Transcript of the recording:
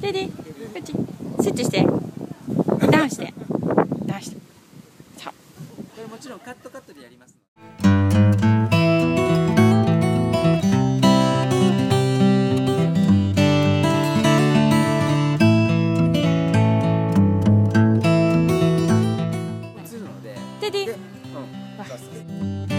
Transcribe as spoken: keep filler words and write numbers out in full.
レディー、こっちスイッチして、ダウンしてダウンして、そう、 これもちろんカットカットでやりますので。 レディー、 うん、